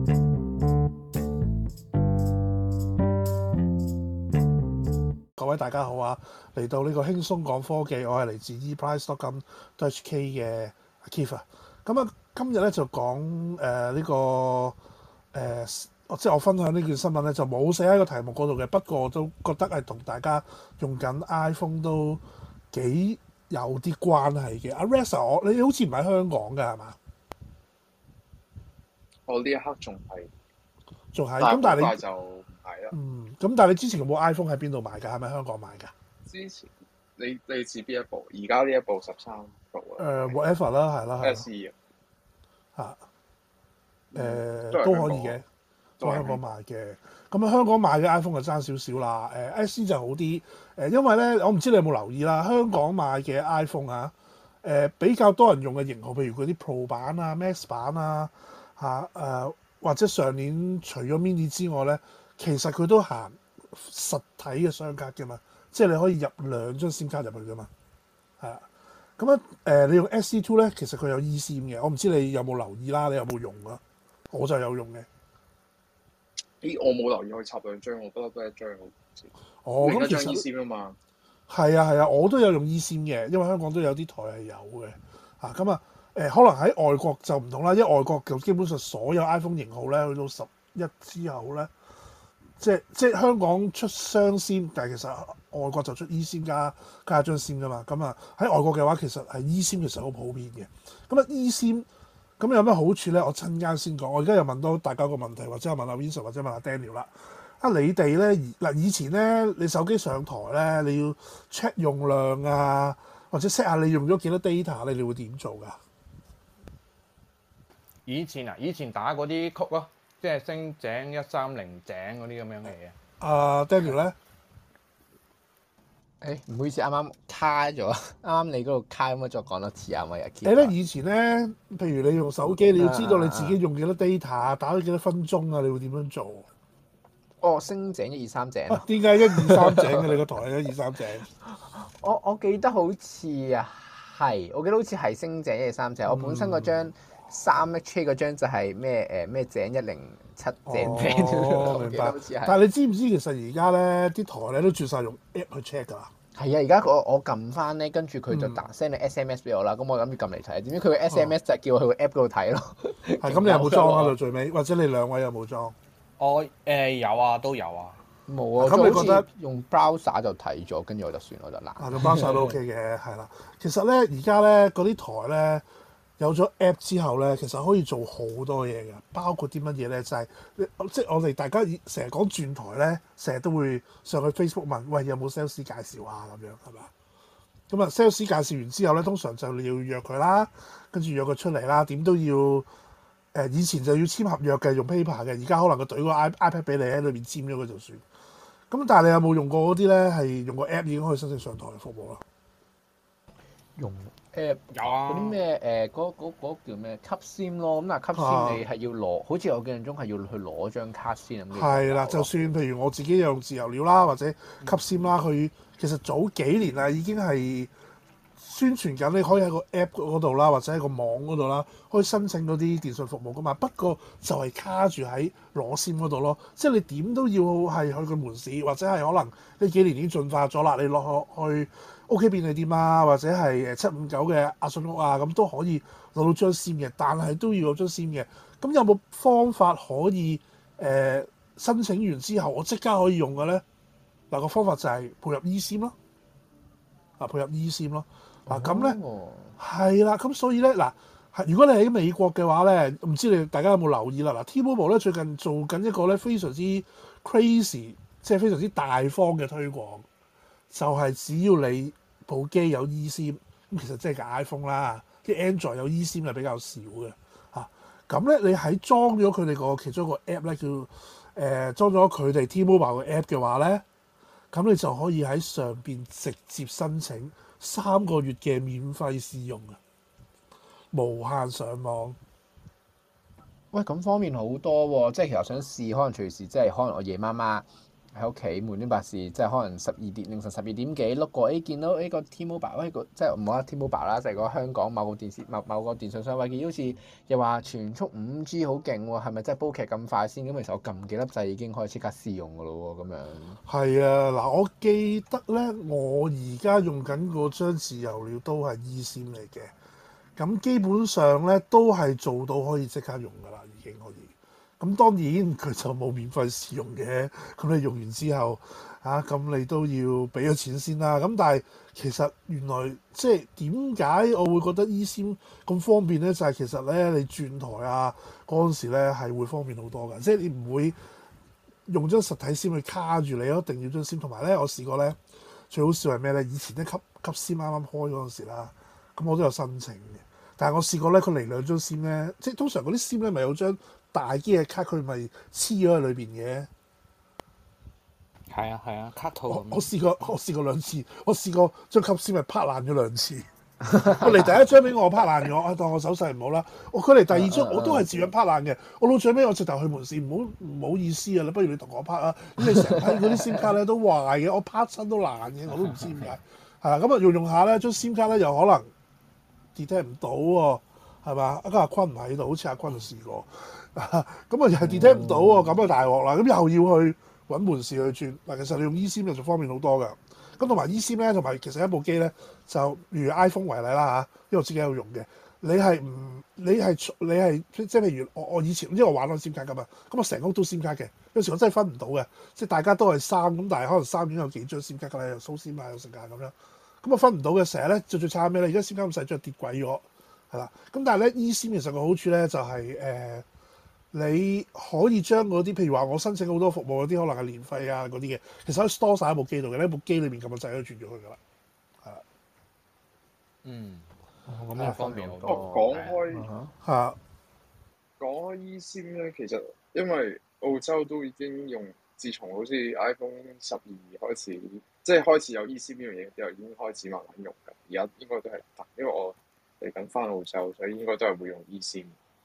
各位大家好啊！嚟到呢個輕鬆講科技，我係嚟自 eprice.com.hk 嘅阿 Keith 啊。咁啊，今日咧就講呢個即係我分享呢件新聞咧，就冇寫喺個題目嗰度嘅。不過我都覺得係同大家用緊 iPhone 都幾有啲關係嘅。阿 Reza，你好似唔喺香港㗎係嘛？ 我呢一刻仲係咁，但係你就唔係啦。 咁但係你之前有冇 iPhone 喺邊度買㗎？係咪香港買㗎？ 之前你指邊一部？而家呢一部13 Pro 啊 ？whatever 啦，係啦 ，SE 啊， 都可以嘅，都喺香港買嘅。咁啊，香港買嘅 iPhone 就爭少少啦。SE 就好啲。因為咧，我唔知你有冇留意啦，香港買嘅 iPhone 啊，比較多人用嘅型號，譬如嗰啲 Pro 版啊、Max 版啊，或者上年除咗 Mini 之外咧，其實佢都行實體嘅雙卡嘅嘛，即係你可以入2張 SIM 卡入去嘅嘛，係啊。咁你用 SE2 咧，其實佢有 eSIM 嘅，我唔知你有冇留意啦，你有冇用啊？我就有用嘅。 我冇留意可以插2張，我不嬲都係1張好似。 咁其實 eSIM 啊嘛。 係啊，我都有用 eSIM 嘅，因為香港都有啲台係有嘅。可能喺外國就唔同啦，因為外國就基本上所有 iPhone 型號咧，去到11之後咧，即係香港出雙 SIM，但係其實外國就出 eSIM 加一張 SIM 噶嘛。喺外國嘅話，其實係 eSIM 其實好普遍嘅。eSIM 咁有咩好處咧？我陣間先講。我而家又問到大家個問題，或者我問阿 Vincent 或者問阿 Daniel 啦。你哋咧以前咧，你手機上台咧，你要 check 用量啊，或者 set 下你用咗幾多 data 你會點做㗎？ 以前打嗰啲曲咯，即係星井130井嗰啲咁樣嘅嘢。 Daniel 咧？ 唔好意思，啱啱卡咗，啱啱你嗰度卡，可唔可以再講多次啊？咪你咧以前咧，譬如你用手機，你要知道你自己用幾多 data，打咗幾多分鐘啊？你會點樣做？ 星井1、2、3井。 點解1、2、3井嘅？你個台係1、2、3井？ 我記得好似係星井1、2、3井。我本身嗰張3HK 嗰張就係咩井107井。 明白。但係你知唔知其實而家咧啲台咧都轉晒用 app 去 check 㗎啦？ 係啊，而家我撳翻咧，跟住佢就send 你 SMS 俾我啦。咁我諗住撳嚟睇，點知佢個 SMS 就係叫我去個 app 嗰度睇咯。 係咁，你有冇裝喺度最尾？或者你兩位有冇裝？ 我有啊，都有啊。 冇啊。咁你覺得用 browser 就睇咗，跟住我就算我就懶。 用 browser 都 OK 嘅，係啦。其實咧，而家咧嗰啲台咧有咗 app 之後咧，其實可以做好多嘢嘅，包括啲乜嘢咧？就係即係我哋大家成日講轉台咧，成日都會上去 Facebook 問，喂，有冇 sales 介紹啊？咁樣係嘛？咁啊 sales 介紹完之後咧，通常就你要約佢啦，跟住約佢出嚟啦，點都要。以前就要簽合約嘅，用 paper 嘅，而家可能佢懟個 iPad 俾你喺裏邊簽咗佢就算。咁但係你有冇用過嗰啲咧？係用個 app 已經可以申請上台嘅服務啦。 用 app 有啊。 嗰啲咩嗰叫咩吸 SIM 咯？咁但係吸 SIM 你係要攞，好似我記象中係要去攞張卡先咁。 係啦，就算譬如我自己用自由鳥啦，或者吸 SIM 啦，佢其實早幾年啦已經係宣傳緊，你可以喺個 app 嗰度啦，或者喺個網嗰度啦，可以申請嗰啲電信服務噶嘛。不過就係卡住喺攞 SIM 嗰度咯，即係你點都要係去個門市，或者係可能呢幾年已經進化咗啦。你落去 OK 便利店啊，或者係759嘅阿信屋啊，咁都可以攞到張 SIM 嘅，但係都要有張 SIM 嘅。咁有冇方法可以申請完之後我即刻可以用嘅咧？嗱，個方法就係配合 eSIM 咯，配合 eSIM 咯。咁咧係啦，咁所以咧如果你喺美國嘅話咧，唔知你大家有冇留意啦？T-Mobile 咧最近做緊一個咧非常之 crazy，即係非常之大方嘅推廣，就係只要你部機有 eSIM，咁其實即係個 iPhone 啦，啲 Android 有 eSIM 係比較少嘅嚇。咁咧你喺裝咗佢哋個其中一個 app 咧叫裝咗佢哋 T-Mobile 嘅 app 嘅話咧，咁你就可以喺上邊直接申請3個月嘅免費試用啊，無限上網。 喂，咁方便好多喎！即係其實我想試，可能隨時即係可能我夜媽媽喺屋企無端白事，即係可能凌晨12點幾碌過，見到呢個 T-Mobile，即係唔好話 T-Mobile 啦，就係個香港某個電信商位，見好似又話全速5G 好勁喎，係咪真係煲劇咁快先？咁其實我撳幾粒掣已經可以即刻試用㗎咯喎，咁樣。 係啊，嗱，我記得咧，我而家用緊嗰張自由料都係 eSIM 嚟嘅，咁基本上咧都係做到可以即刻用㗎啦，已經可以。咁當然佢就冇免費試用嘅，咁你用完之後咁你都要俾咗錢先啦。咁但係其實原來即係點解我會覺得 eSIM 咁方便咧？就係其實咧你轉台嗰陣時咧係會方便好多㗎，即係你唔會用張實體 SIM 去卡住你，一定要張 SIM。同埋咧，我試過咧最好笑係咩咧？以前咧吸 SIM 啱啱開嗰陣時啦，咁我都有申請嘅。但係我試過咧，佢嚟2張 SIM 咧，即係通常嗰啲 SIM 咧咪有張大機嘅卡，佢咪黐咗喺裏邊嘅。 係啊，卡套咁。 我試過2次，我試過張吸 SIM 咪拍爛咗2次。佢嚟第一張俾我拍爛咗，當我手勢唔好啦。佢嚟第二張我都係照樣拍爛嘅。我到最尾我直頭去門市，唔好意思啊，你不如你同我拍啊。咁你成批嗰啲 SIM 卡咧都壞嘅，我拍親都爛嘅，我都唔知點解。係啦，咁啊用下咧，張 SIM 卡咧又可能 detect 唔到喎，係嘛？阿坤唔喺度，好似阿坤就試過。咁啊又係 detect 唔到喎，咁啊大鑊啦！咁又要去揾門市去轉。嗱，其實你用 eSIM 就方便好多㗎。咁同埋 eSIM 咧，同埋其實一部機咧，就如 iPhone 為例啦因為我自己有用嘅。你係即係譬如我以前因為我玩開 SIM 卡㗎嘛，咁我成屋都 SIM 卡嘅。有時我真係分唔到嘅，即係大家都係3咁，但係可能3已經有幾張 SIM 卡㗎啦，又蘇 SIM 啊，又成架咁樣。咁我分唔到嘅，成日咧最慘咩咧？而家 SIM 卡咁細，將跌鬼咗，係啦。咁但係咧 eSIM 其實個好處咧就係你可以將嗰啲譬如話我申請好多服務嗰啲可能係年費啊嗰啲嘅，其實可以 store 曬喺部機度嘅，呢部機裏面咁嘅掣都轉咗去㗎啦，係啦。 咁就方便好多。 講開 eSIM 咧，其實因為澳洲都已經用，自從好似 iPhone 12開始，即係開始有 eSIM 呢樣嘢之後，已經開始慢慢用㗎。而家應該都係得，因為我嚟緊翻澳洲，所以應該都係會用 eSIM。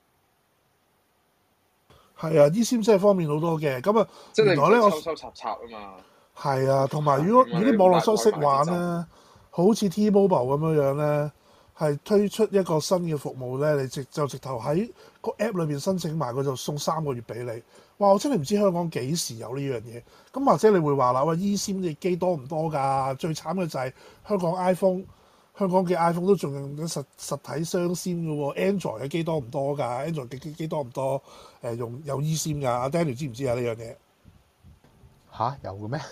係啊，eSIM 真係方便好多嘅。咁啊， 即係原來咧我抽插啊嘛。 係啊，同埋如果啲網絡收識玩咧，好似 T-Mobile 咁樣咧，係推出一個新嘅服務咧，你直頭喺個 app 裏邊申請埋，佢就送3個月俾你。哇！我真係唔知香港幾時有呢樣嘢。咁或者你會話啦，喂，eSIM 嘅機多唔多㗎？最慘嘅就係香港嘅 iPhone 都仲用緊實體雙 SIM 嘅喎。Android 嘅機多唔多㗎？Android 嘅機多唔多？用有 eSIM 㗎？阿 Daniel 知唔知啊呢樣嘢？ 有嘅咩？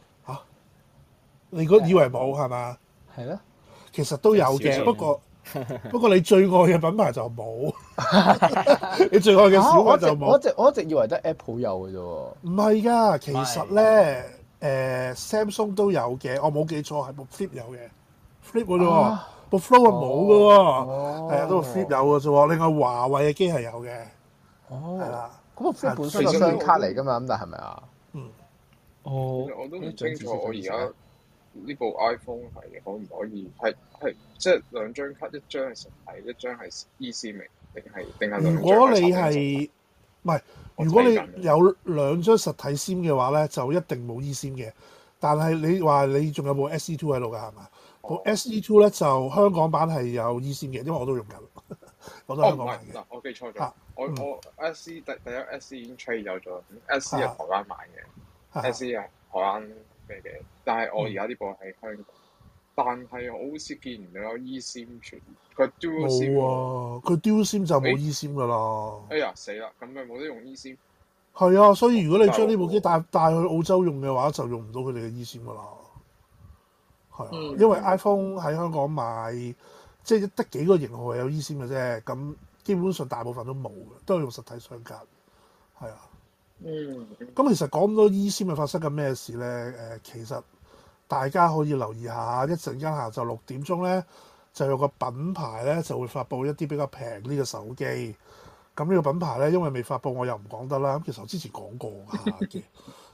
你以為冇係嘛？ 係咯， 其實都有嘅，不過你最愛嘅品牌就冇，你最愛嘅小米就冇。 我一直以為得 Apple 有嘅啫喎。 唔係㗎，其實咧Samsung 都有嘅，我冇記錯係部 Flip 有嘅，Flip 嘅啫喎，部 Flow 係冇嘅喎，係啊，都部 Flip 有嘅啫喎。另外華為嘅機係有嘅，係啦。 咁部 Flip 本身係雙卡嚟㗎嘛，咁但係咪啊？ 其實我都唔清楚，我而家呢部 iPhone 係可唔可以係即係2張卡，一張係實體，一張係 eSIM 定係如果你係唔係？如果你有2張實體 SIM 嘅話咧，就一定冇 eSIM 嘅。但係你話你仲有部 SE2 喺度㗎係嘛？部 SE2 咧就香港版係有 eSIM 嘅，因為我都用緊，我都香港版嘅。 嗱，我記錯咗，我 SE 第一 SE 已經 trade 走咗，SE 係台灣買嘅，SE 係台灣咩嘅，但係我而家呢部喺香港。但係我好似見唔到有 eSIM 傳，佢 Dual SIM 冇啊，佢 Dual SIM 就冇 eSIM 㗎啦。 哎呀死啦，咁咪冇得用 eSIM。 係啊，所以如果你將呢部機帶去澳洲用嘅話，就用唔到佢哋嘅 eSIM 㗎啦。係啊，因為 iPhone 喺香港賣，即係得幾個型號係有 eSIM 嘅啫，咁基本上大部分都冇嘅，都係用實體雙卡。係啊。咁其實講咁多 eSIM 係發生緊咩事咧？其實大家可以留意下，一陣間下晝6點鐘咧，就有個品牌咧就會發布一啲比較平啲嘅手機。咁呢個品牌咧，因為未發布，我又唔講得啦。咁其實我之前講過嘅，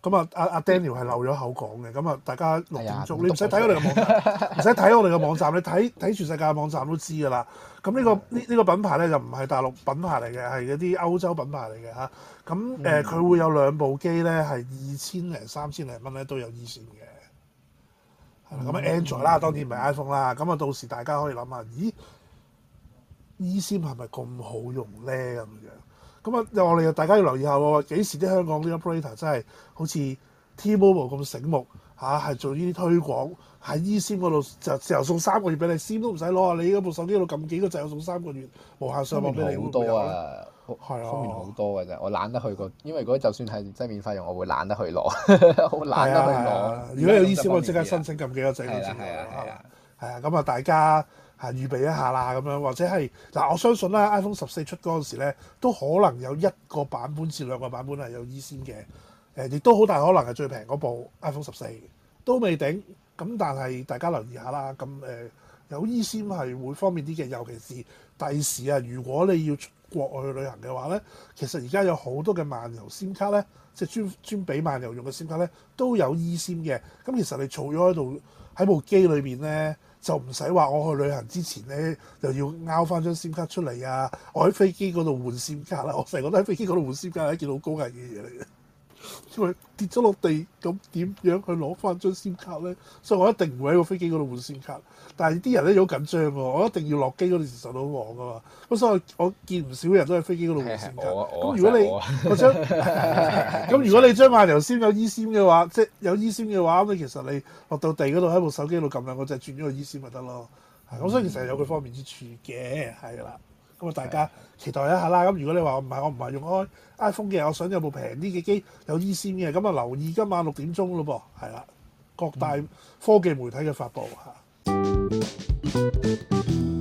咁啊，阿 Daniel 係漏咗口講嘅，咁啊，大家6點鐘，你唔使睇我哋嘅網站，唔使睇我哋嘅網站，你睇全世界嘅網站都知㗎啦。咁呢個品牌咧就唔係大陸品牌嚟嘅，係嗰啲歐洲品牌嚟嘅嚇。咁佢會有2部機咧，係2000零3000零蚊咧都有 eSIM 嘅。係啦，咁 Android 啦，當然唔係 iPhone 啦。咁啊，到時大家可以諗下，咦 eSIM 係咪咁好用咧咁樣？咁啊，我哋大家要留意下喎，幾時啲香港啲 operator 真係好似 T-Mobile 咁醒目嚇，係做呢啲推廣喺 eSIM 嗰度就送3個月俾你，SIM 都唔使攞啊！你嗰部手機度撳幾個掣，送3個月無限上網俾你， 好多啊， 係啊， 方便好多嘅啫。我懶得去個，因為如果就算係真係免費用，我會懶得去攞，好懶得去攞。 如果有 eSIM，我即刻申請撳幾個掣都知㗎。係啊，咁啊，大家係預備一下啦，咁樣或者係嗱，我相信啦 ，iPhone 14出嗰陣時咧，都可能有1個版本至2個版本係有 eSIM 嘅，亦都好大可能係最平嗰部 iPhone 14都未定。咁但係大家留意下啦，咁有 eSIM 係會方便啲嘅，尤其是第時啊，如果你要出國外去旅行嘅話咧，其實而家有好多嘅漫遊 SIM 卡咧，即係專俾漫遊用嘅 SIM 卡咧，都有 eSIM 嘅。咁其實你儲咗喺度喺部機裏邊咧，就唔使話我去旅行之前咧又要拗翻張 SIM 卡出嚟啊！我喺飛機嗰度換 SIM 卡啦，我成日覺得喺飛機嗰度換 SIM 卡係一件好高危嘅嘢嚟嘅。因為跌咗落地，咁點樣去攞翻張 SIM 卡咧？所以我一定唔會喺個飛機嗰度換 SIM 卡。但係啲人咧好緊張喎，我一定要落機嗰陣時受到網噶嘛。咁所以我見唔少人都喺飛機嗰度換 SIM 卡。咁如果你如果你將漫遊 SIM 有 eSIM 嘅話，即係有 eSIM 嘅話，咁你其實你落到地嗰度喺部手機度撳2個掣轉咗個 eSIM 咪得咯。咁所以其實有佢方便之處嘅，係啦。咁啊，大家期待一下啦。咁如果你話我唔係用開 iPhone 嘅，我想有部平啲嘅機有 eSIM 嘅，咁啊留意今晚6點鐘咯噃，係啦，各大科技媒體嘅發布嚇。